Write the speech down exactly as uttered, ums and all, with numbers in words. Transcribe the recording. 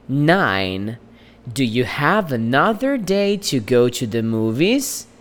nine. Do you have another day to go to the movies?